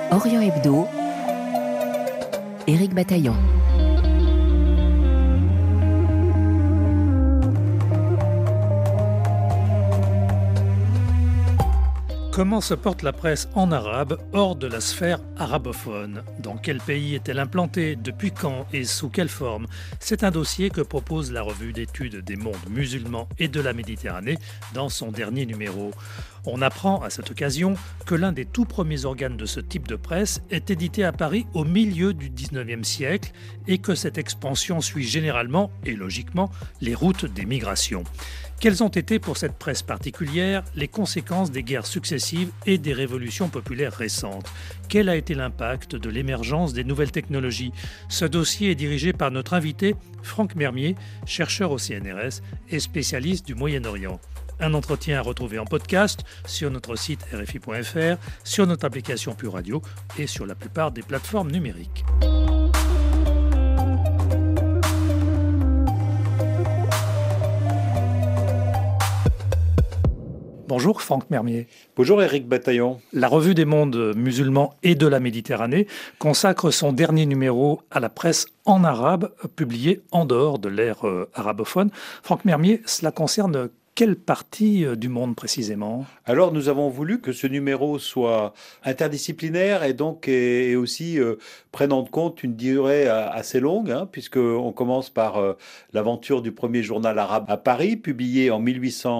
Orient Hebdo, Éric Bataillon. Comment se porte la presse en arabe hors de la sphère arabophone? Dans quel pays est-elle implantée? Depuis quand et sous quelle forme? C'est un dossier que propose la revue d'études des mondes musulmans et de la Méditerranée dans son dernier numéro. On apprend à cette occasion que l'un des tout premiers organes de ce type de presse est édité à Paris au milieu du 19e siècle et que cette expansion suit généralement et logiquement les routes des migrations. Quelles ont été pour cette presse particulière les conséquences des guerres successives et des révolutions populaires récentes? Quel a été l'impact de l'émergence des nouvelles technologies? Ce dossier est dirigé par notre invité, Franck Mermier, chercheur au CNRS et spécialiste du Moyen-Orient. Un entretien à retrouver en podcast sur notre site rfi.fr, sur notre application Pure Radio et sur la plupart des plateformes numériques. Bonjour Franck Mermier. Bonjour Éric Bataillon. La revue des mondes musulmans et de la Méditerranée consacre son dernier numéro à la presse en arabe, publié en dehors de l'ère arabophone. Franck Mermier, cela concerne quelle partie du monde précisément? Alors nous avons voulu que ce numéro soit interdisciplinaire et donc et aussi prenne en compte une durée assez longue, puisqu'on commence par l'aventure du premier journal arabe à Paris, publié en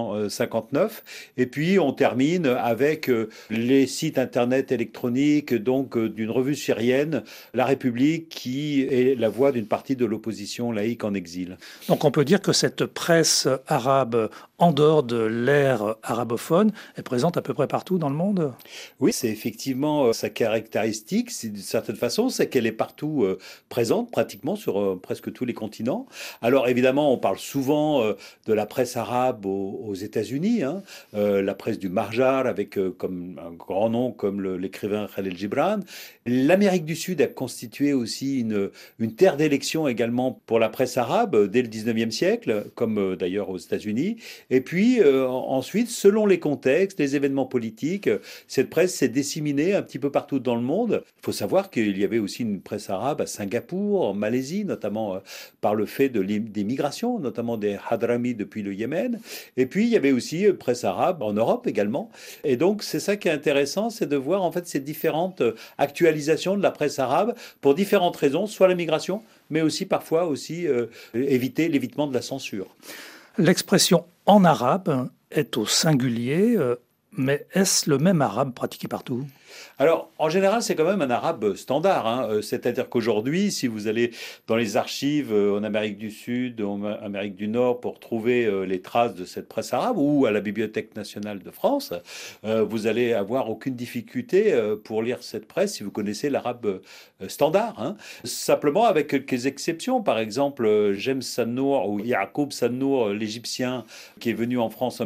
1859, et puis on termine avec les sites internet électroniques donc d'une revue syrienne, La République, qui est la voix d'une partie de l'opposition laïque en exil. Donc on peut dire que cette presse arabe en dehors de l'ère arabophone est présente à peu près partout dans le monde? Oui, c'est effectivement sa caractéristique, d'une certaine façon, c'est qu'elle est partout présente, pratiquement sur presque tous les continents. Alors évidemment, on parle souvent de la presse arabe aux États-Unis, la presse du Marjar, avec comme un grand nom comme l'écrivain Khalil Gibran. L'Amérique du Sud a constitué aussi une terre d'élection également pour la presse arabe dès le 19e siècle, comme d'ailleurs aux États-Unis. Et puis ensuite, selon les contextes, les événements politiques, cette presse s'est disséminée un petit peu partout dans le monde. Il faut savoir qu'il y avait aussi une presse arabe à Singapour, en Malaisie, notamment par le fait des migrations, notamment des Hadramis depuis le Yémen. Et puis il y avait aussi presse arabe en Europe également. Et donc c'est ça qui est intéressant, c'est de voir en fait ces différentes actualisations de la presse arabe pour différentes raisons, soit la migration, mais aussi parfois aussi éviter l'évitement de la censure. L'expression en arabe est au singulier, mais est-ce le même arabe pratiqué partout? Alors, en général, c'est quand même un arabe standard. C'est-à-dire qu'aujourd'hui, si vous allez dans les archives en Amérique du Sud, en Amérique du Nord, pour trouver les traces de cette presse arabe, ou à la Bibliothèque nationale de France, vous allez avoir aucune difficulté pour lire cette presse si vous connaissez l'arabe standard. Simplement avec quelques exceptions. Par exemple, James Sannour ou Yacoub Sannour, l'Égyptien, qui est venu en France en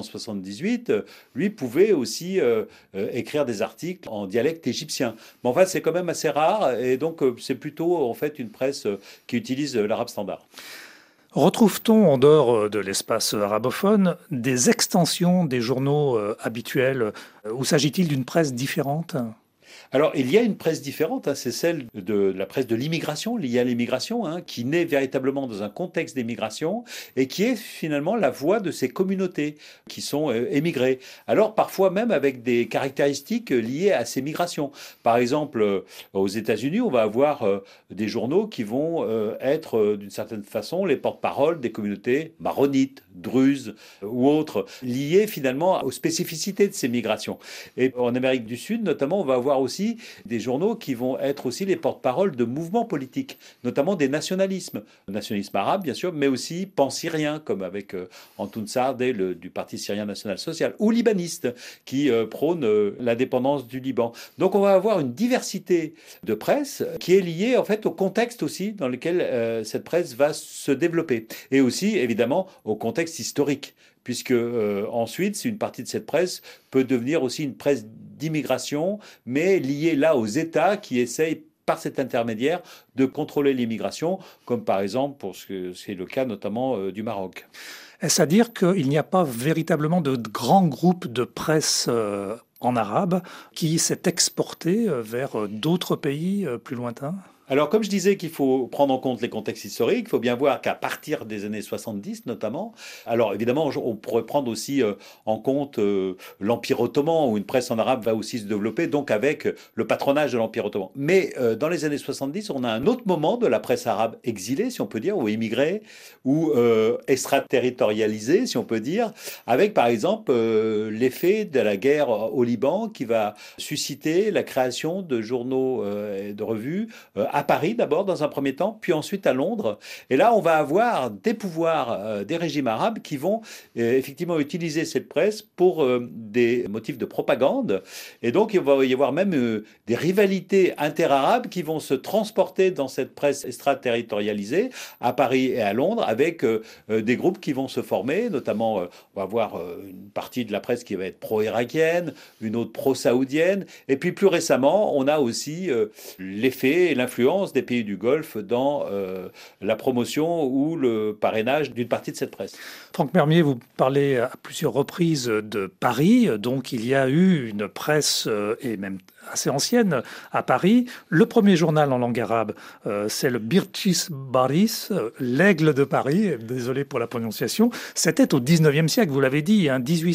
1878, lui pouvait aussi écrire des articles en dialecte égyptien. Mais enfin, c'est quand même assez rare et donc c'est plutôt en fait une presse qui utilise l'arabe standard. Retrouve-t-on en dehors de l'espace arabophone des extensions des journaux habituels ou s'agit-il d'une presse différente? Alors, il y a une presse différente, c'est celle de la presse de l'immigration, liée à l'immigration, qui naît véritablement dans un contexte d'émigration et qui est finalement la voix de ces communautés qui sont émigrées. Alors, parfois même avec des caractéristiques liées à ces migrations. Par exemple, aux États-Unis, on va avoir des journaux qui vont être d'une certaine façon les porte-parole des communautés maronites, druzes ou autres, liées finalement aux spécificités de ces migrations. Et en Amérique du Sud, notamment, on va avoir aussi des journaux qui vont être aussi les porte-parole de mouvements politiques, notamment des nationalismes. Le nationalisme arabe, bien sûr, mais aussi pan-syrien, comme avec Antoun Saadé du Parti syrien national social, ou libaniste, qui prône l'indépendance du Liban. Donc on va avoir une diversité de presse qui est liée en fait au contexte aussi dans lequel cette presse va se développer. Et aussi, évidemment, au contexte historique, puisque ensuite, une partie de cette presse peut devenir aussi une presse d'immigration, mais liée là aux États qui essayent par cet intermédiaire de contrôler l'immigration, comme par exemple pour ce que c'est le cas notamment du Maroc. Est-ce à dire qu'il n'y a pas véritablement de grands groupes de presse en arabe qui s'est exporté vers d'autres pays plus lointains? Alors, comme je disais qu'il faut prendre en compte les contextes historiques, il faut bien voir qu'à partir des années 70 notamment, alors évidemment, on pourrait prendre aussi en compte l'Empire ottoman, où une presse en arabe va aussi se développer, donc avec le patronage de l'Empire ottoman. Mais dans les années 70, on a un autre moment de la presse arabe exilée, si on peut dire, ou émigrée, ou extraterritorialisée, si on peut dire, avec par exemple l'effet de la guerre au Liban qui va susciter la création de journaux et de revues à Paris d'abord dans un premier temps, puis ensuite à Londres. Et là, on va avoir des pouvoirs des régimes arabes qui vont effectivement utiliser cette presse pour des motifs de propagande. Et donc, il va y avoir même des rivalités interarabes qui vont se transporter dans cette presse extraterritorialisée à Paris et à Londres avec des groupes qui vont se former, notamment on va avoir une partie de la presse qui va être pro-irakienne, une autre pro-saoudienne, et puis plus récemment, on a aussi l'effet et l'influence des pays du Golfe dans la promotion ou le parrainage d'une partie de cette presse. Franck Mermier, vous parlez à plusieurs reprises de Paris, donc il y a eu une presse et même assez ancienne à Paris. Le premier journal en langue arabe, c'est le Birchis Baris, l'Aigle de Paris, désolé pour la prononciation. C'était au 19e siècle, vous l'avez dit,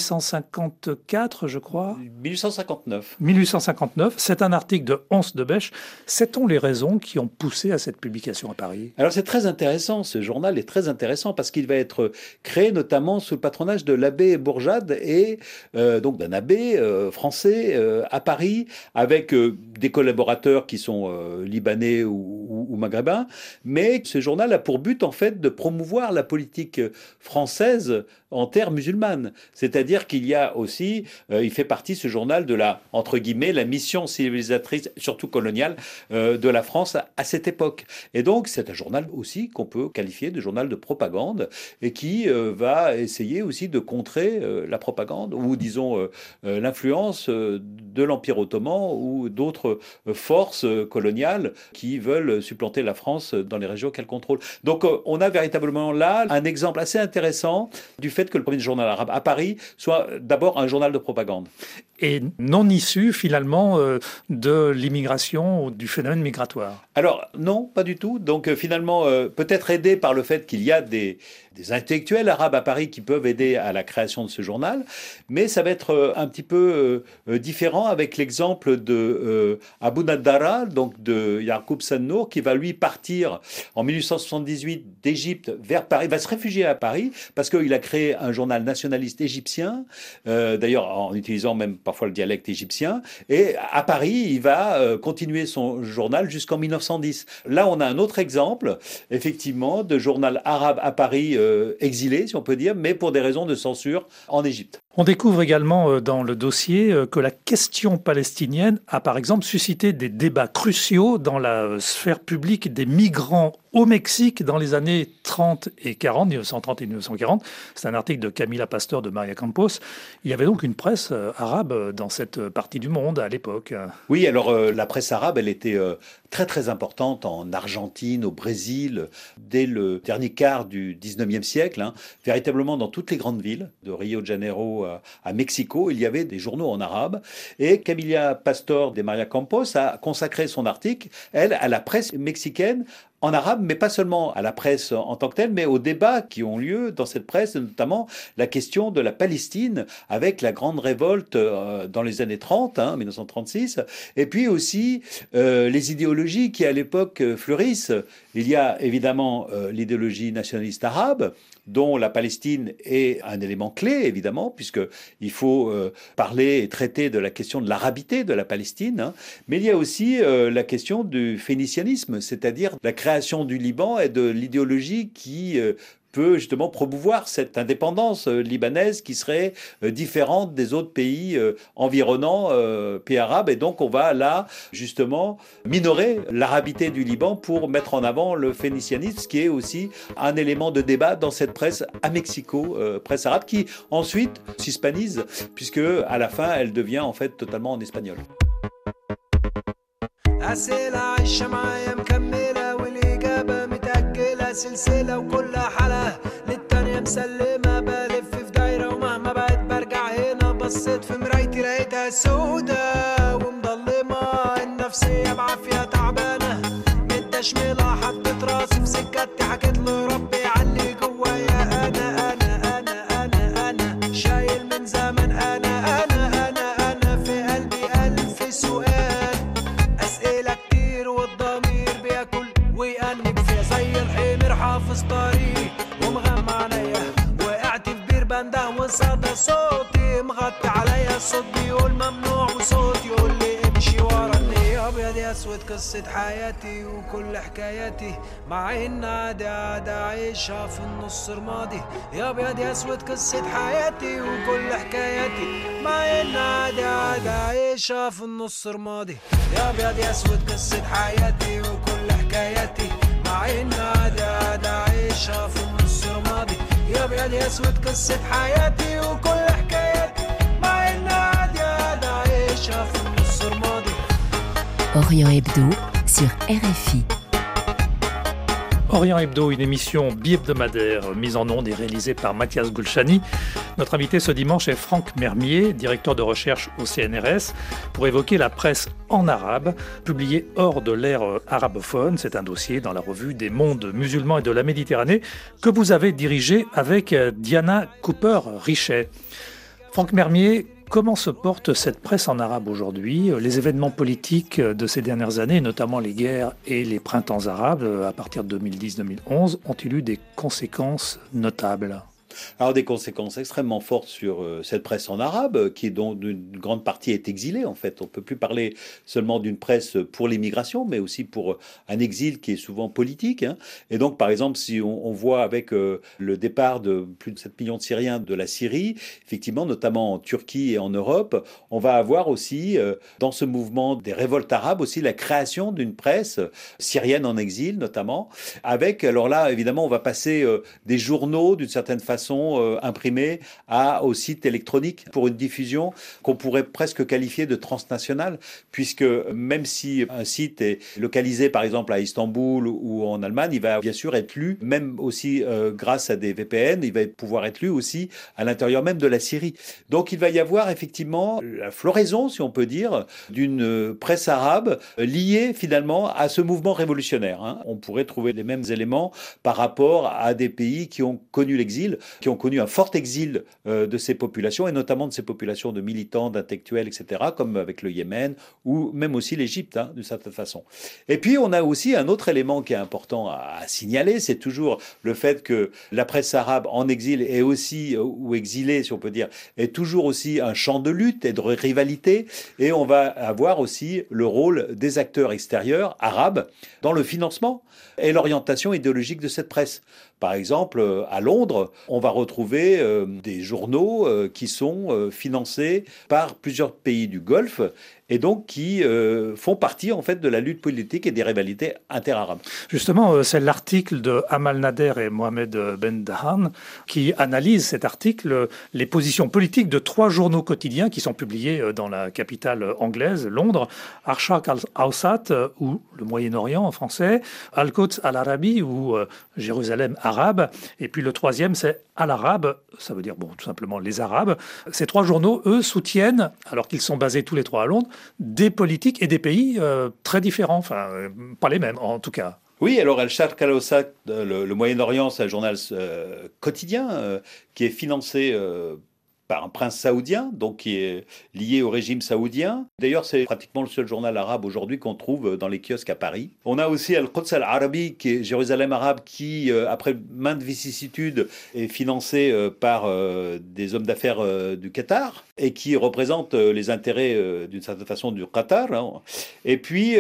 1854 je crois. 1859. 1859, c'est un article de Hans de Besche. Sait-on les raisons qui ont poussé à cette publication à Paris? Alors c'est très intéressant, ce journal est très intéressant parce qu'il va être créé notamment sous le patronage de l'abbé Bourjade et donc d'un abbé français à Paris avec des collaborateurs qui sont libanais ou maghrébins, mais ce journal a pour but en fait de promouvoir la politique française en terre musulmane. C'est-à-dire qu'il y a aussi, il fait partie ce journal de la, entre guillemets, la mission civilisatrice, surtout coloniale, de la France à cette époque. Et donc c'est un journal aussi qu'on peut qualifier de journal de propagande et qui va essayer aussi de contrer la propagande ou disons l'influence de l'Empire ottoman ou d'autres forces coloniales qui veulent supplanter la France dans les régions qu'elle contrôle. Donc on a véritablement là un exemple assez intéressant du fait que le premier journal arabe à Paris soit d'abord un journal de propagande. Et non issu finalement de l'immigration ou du phénomène migratoire. Alors non, pas du tout. Donc finalement, peut-être aidé par le fait qu'il y a des intellectuels arabes à Paris qui peuvent aider à la création de ce journal, mais ça va être un petit peu différent avec l'exemple de Abu Naddara, donc de Yaqub Sannour, qui va lui partir en 1878 d'Égypte vers Paris, va se réfugier à Paris parce qu'il a créé un journal nationaliste égyptien, d'ailleurs en utilisant même parfois le dialecte égyptien, et à Paris, il va continuer son journal jusqu'en 1910. Là, on a un autre exemple, effectivement, de journal arabe à Paris exilé, si on peut dire, mais pour des raisons de censure en Égypte. On découvre également dans le dossier que la question palestinienne a par exemple suscité des débats cruciaux dans la sphère publique des migrants au Mexique dans les années 30 et 40, 1930 et 1940. C'est un article de Camila Pastor de Maria Campos. Il y avait donc une presse arabe dans cette partie du monde à l'époque. Oui, alors la presse arabe, elle était très très importante en Argentine, au Brésil, dès le dernier quart du 19e siècle. Véritablement dans toutes les grandes villes, de Rio de Janeiro à Mexico, il y avait des journaux en arabe. Et Camila Pastor de Maria Campos a consacré son article, elle, à la presse mexicaine, en arabe, mais pas seulement à la presse en tant que telle, mais aux débats qui ont lieu dans cette presse, notamment la question de la Palestine, avec la grande révolte dans les années 30, 1936, et puis aussi les idéologies qui à l'époque fleurissent. Il y a évidemment l'idéologie nationaliste arabe, dont la Palestine est un élément clé, évidemment, puisqu'il faut parler et traiter de la question de l'arabité de la Palestine, mais il y a aussi la question du phénicianisme, c'est-à-dire la création du Liban et de l'idéologie qui peut justement promouvoir cette indépendance libanaise qui serait différente des autres pays environnants, pays arabes. Et donc on va là justement minorer l'arabité du Liban pour mettre en avant le phénicianisme, ce qui est aussi un élément de débat dans cette presse à Mexico, presse arabe, qui ensuite s'hispanise, puisque à la fin elle devient en fait totalement en espagnol. سلسلة وكلها حلا للتانية مسلمة بلف في دايرة ومهما بعد برجع هنا بصيت في مرايتي نفسيتي لقيتها سودة ومضلمة، النفسية بعافية تعبانة، متدشملة حطيت راسي في سكتي، حكيت لربي علي جوايا، أنا شايل من زمان، أنا في قلبي ألف سؤال، أسئلة كتير والضمير بياكل ويأنب فيها، زي الحمير حافظ طريق ومغمى عينيا، وقعت في بير بنده وصدى صوتي مغطي عليا، الصوت بيقول ممنوع وصوت يقول لي امشي وراني. يا ابيض يا اسود قصة حياتي وكل حكاياتي، مع ان عادي عايشها في النص رمادي. يا ابيض يا اسود قصة حياتي وكل حكاياتي، مع ان عادي عايشها في النص رمادي. يا ابيض يا اسود قصة حياتي وكل حكاياتي، مع ان عادي عايشها في النص رمادي. يا ابيض يا اسود قصة حياتي وكل حكاياتي، مع ان عادي عايشها في النص رمادي. Orient Hebdo sur RFI. Orient Hebdo, une émission bi-hebdomadaire mise en onde et réalisée par Mathias Gulchani. Notre invité ce dimanche est Franck Mermier, directeur de recherche au CNRS, pour évoquer la presse en arabe, publiée hors de l'ère arabophone. C'est un dossier dans la revue des mondes musulmans et de la Méditerranée que vous avez dirigé avec Diana Cooper-Richet. Franck Mermier, comment se porte cette presse en arabe aujourd'hui ? Les événements politiques de ces dernières années, notamment les guerres et les printemps arabes, à partir de 2010-2011, ont-ils eu des conséquences notables ? Alors des conséquences extrêmement fortes sur cette presse en arabe, qui dont une grande partie est exilée en fait. On ne peut plus parler seulement d'une presse pour l'immigration, mais aussi pour un exil qui est souvent politique. Hein. Et donc par exemple, si on voit avec le départ de plus de 7 millions de Syriens de la Syrie, effectivement, notamment en Turquie et en Europe, on va avoir aussi dans ce mouvement des révoltes arabes aussi la création d'une presse syrienne en exil notamment, avec, alors là évidemment on va passer des journaux d'une certaine façon imprimés au site électronique pour une diffusion qu'on pourrait presque qualifier de transnationale, puisque même si un site est localisé par exemple à Istanbul ou en Allemagne, il va bien sûr être lu, même aussi grâce à des VPN, il va pouvoir être lu aussi à l'intérieur même de la Syrie. Donc il va y avoir effectivement la floraison, si on peut dire, d'une presse arabe liée finalement à ce mouvement révolutionnaire. Hein. On pourrait trouver les mêmes éléments par rapport à des pays qui ont connu l'exil, qui ont connu un fort exil de ces populations, et notamment de ces populations de militants, d'intellectuels, etc., comme avec le Yémen, ou même aussi l'Égypte, hein, d'une certaine façon. Et puis, on a aussi un autre élément qui est important à signaler, c'est toujours le fait que la presse arabe en exil est aussi, ou exilée, si on peut dire, est toujours aussi un champ de lutte et de rivalité, et on va avoir aussi le rôle des acteurs extérieurs arabes dans le financement et l'orientation idéologique de cette presse. Par exemple, à Londres, on va retrouver des journaux qui sont financés par plusieurs pays du Golfe et donc qui font partie en fait de la lutte politique et des rivalités interarabes. Justement, c'est l'article de Amal Nader et Mohamed Ben Dahan qui analyse cet article, les positions politiques de 3 journaux quotidiens qui sont publiés dans la capitale anglaise, Londres, Arshaq al-Awsat ou le Moyen-Orient en français, Al-Quds al-Arabi ou Jérusalem arabe, et puis le 3e c'est Al-Arabe, ça veut dire tout simplement les Arabes. Ces 3 journaux, eux, soutiennent, alors qu'ils sont basés tous les 3 à Londres, des politiques et des pays très différents, enfin pas les mêmes en tout cas. Oui, alors Al-Sharq al-Awsat, le Moyen-Orient, c'est un journal quotidien qui est financé par un prince saoudien, donc qui est lié au régime saoudien. D'ailleurs, c'est pratiquement le seul journal arabe aujourd'hui qu'on trouve dans les kiosques à Paris. On a aussi Al-Quds al-Arabi, qui est Jérusalem arabe, qui, après maintes vicissitudes, est financé par des hommes d'affaires du Qatar et qui représente les intérêts, d'une certaine façon, du Qatar. Hein. Et puis,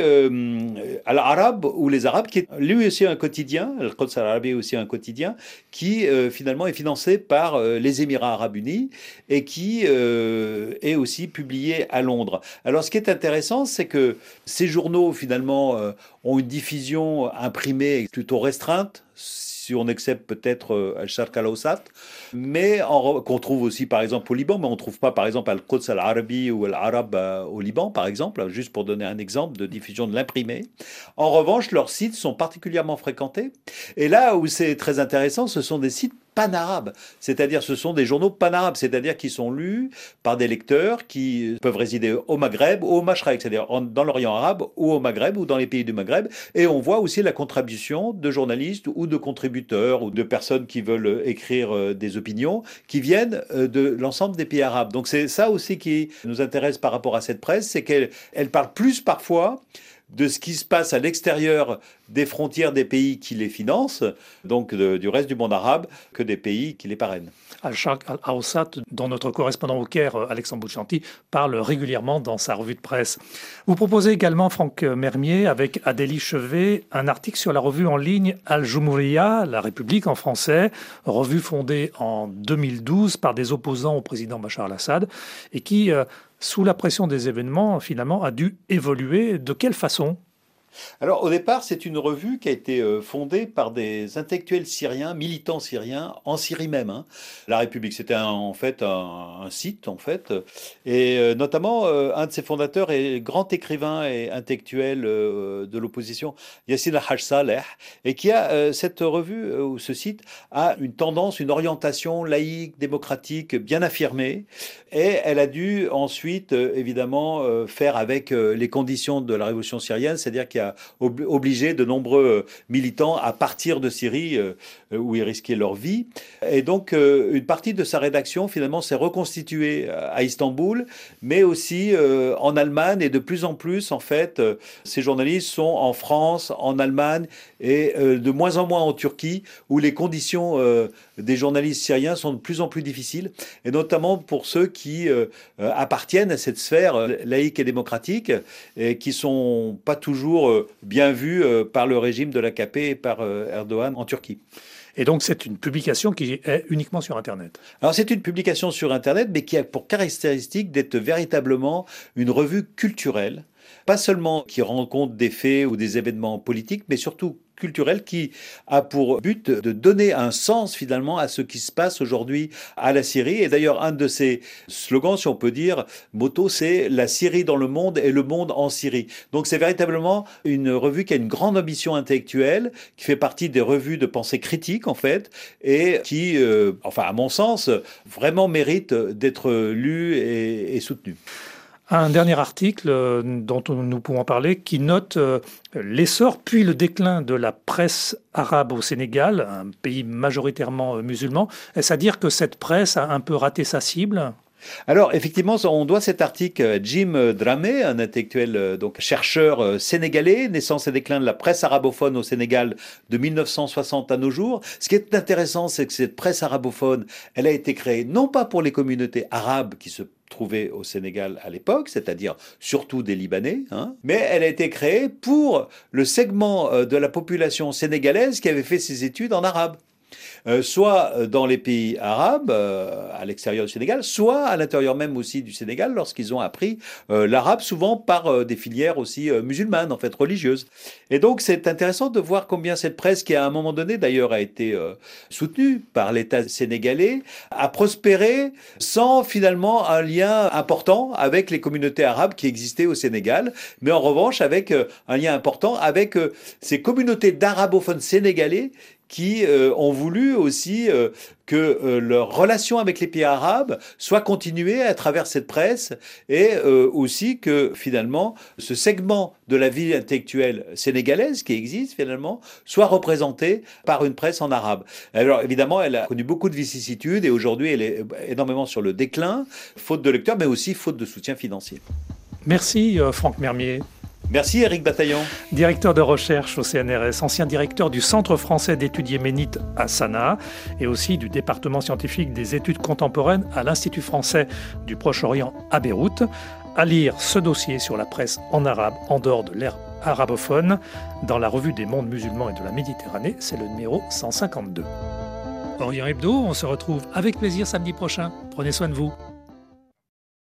Al-Arab, ou les Arabes, qui est lui aussi un quotidien, Al-Quds al-Arabi est aussi un quotidien, qui finalement est financé par les Émirats arabes unis, et qui est aussi publié à Londres. Alors, ce qui est intéressant, c'est que ces journaux, finalement, ont une diffusion imprimée plutôt restreinte, si on accepte peut-être Al-Sharq al-Awsat, mais qu'on trouve aussi par exemple au Liban, mais on ne trouve pas par exemple Al-Quds al-Arabi ou Al-Arab au Liban par exemple, juste pour donner un exemple de diffusion de l'imprimé. En revanche, leurs sites sont particulièrement fréquentés, et là où c'est très intéressant, ce sont des sites panarabes, c'est-à-dire ce sont des journaux panarabes, c'est-à-dire qui sont lus par des lecteurs qui peuvent résider au Maghreb ou au Mashrek, c'est-à-dire dans l'Orient arabe ou au Maghreb ou dans les pays du Maghreb. Et on voit aussi la contribution de journalistes ou de contributeurs ou de personnes qui veulent écrire des opinions qui viennent de l'ensemble des pays arabes. Donc c'est ça aussi qui nous intéresse par rapport à cette presse, c'est qu'elle parle plus parfois de ce qui se passe à l'extérieur des frontières des pays qui les financent, donc du reste du monde arabe, que des pays qui les parrainent. Al-Sharq Al-Awsat, dont notre correspondant au Caire, Alexandre Bouchanti, parle régulièrement dans sa revue de presse. Vous proposez également, Franck Mermier, avec Adélie Chevet, un article sur la revue en ligne Al-Jumhuriya, La République en français, revue fondée en 2012 par des opposants au président Bachar al-Assad, et qui, sous la pression des événements, finalement, a dû évoluer. De quelle façon ? Alors au départ, c'est une revue qui a été fondée par des intellectuels syriens, militants syriens, en Syrie même. La République, c'était en fait un site, en fait. Et notamment, un de ses fondateurs est grand écrivain et intellectuel de l'opposition, Yassine al-Haj Saleh, et qui a cette revue, ou ce site, a une tendance, une orientation laïque, démocratique, bien affirmée. Et elle a dû ensuite, évidemment, faire avec les conditions de la révolution syrienne, c'est-à-dire qu'il y a obligé de nombreux militants à partir de Syrie où ils risquaient leur vie. Et donc, une partie de sa rédaction, finalement, s'est reconstituée à Istanbul, mais aussi en Allemagne. Et de plus en plus, en fait, ces journalistes sont en France, en Allemagne et de moins en moins en Turquie, où les conditions des journalistes syriens sont de plus en plus difficiles, et notamment pour ceux qui appartiennent à cette sphère laïque et démocratique, et qui sont pas toujours bien vus par le régime de l'AKP et par Erdogan en Turquie. Et donc c'est une publication qui est uniquement sur Internet. Alors c'est une publication sur Internet, mais qui a pour caractéristique d'être véritablement une revue culturelle, pas seulement qui rend compte des faits ou des événements politiques, mais surtout culturelle, qui a pour but de donner un sens finalement à ce qui se passe aujourd'hui à la Syrie. Et d'ailleurs, un de ses slogans, si on peut dire, motto, c'est la Syrie dans le monde et le monde en Syrie. Donc c'est véritablement une revue qui a une grande ambition intellectuelle, qui fait partie des revues de pensée critique en fait, et qui, enfin à mon sens, vraiment mérite d'être lue et soutenue. Un dernier article dont nous pouvons parler qui note l'essor puis le déclin de la presse arabe au Sénégal, un pays majoritairement musulman. Est-ce à dire que cette presse a un peu raté sa cible ? Alors, effectivement, on doit cet article à Jim Dramé, un intellectuel, donc chercheur sénégalais, naissance et déclin de la presse arabophone au Sénégal de 1960 à nos jours. Ce qui est intéressant, c'est que cette presse arabophone, elle a été créée non pas pour les communautés arabes qui se trouvaient au Sénégal à l'époque, c'est-à-dire surtout des Libanais, mais elle a été créée pour le segment de la population sénégalaise qui avait fait ses études en arabe. Soit dans les pays arabes, à l'extérieur du Sénégal, soit à l'intérieur même aussi du Sénégal, lorsqu'ils ont appris l'arabe, souvent par des filières aussi musulmanes, en fait, religieuses. Et donc, c'est intéressant de voir combien cette presse, qui à un moment donné, d'ailleurs, a été soutenue par l'État sénégalais, a prospéré sans finalement un lien important avec les communautés arabes qui existaient au Sénégal, mais en revanche avec un lien important avec ces communautés d'arabophones sénégalais qui ont voulu aussi que leur relation avec les pays arabes soit continuée à travers cette presse, et aussi que finalement ce segment de la vie intellectuelle sénégalaise qui existe finalement soit représenté par une presse en arabe. Alors évidemment, elle a connu beaucoup de vicissitudes et aujourd'hui elle est énormément sur le déclin, faute de lecteurs mais aussi faute de soutien financier. Merci Franck Mermier. Merci Éric Bataillon. Directeur de recherche au CNRS, ancien directeur du Centre français d'études yéménites à Sanaa et aussi du département scientifique des études contemporaines à l'Institut français du Proche-Orient à Beyrouth. À lire ce dossier sur la presse en arabe en dehors de l'ère arabophone dans la revue des mondes musulmans et de la Méditerranée, c'est le numéro 152. Orient Hebdo, on se retrouve avec plaisir samedi prochain. Prenez soin de vous.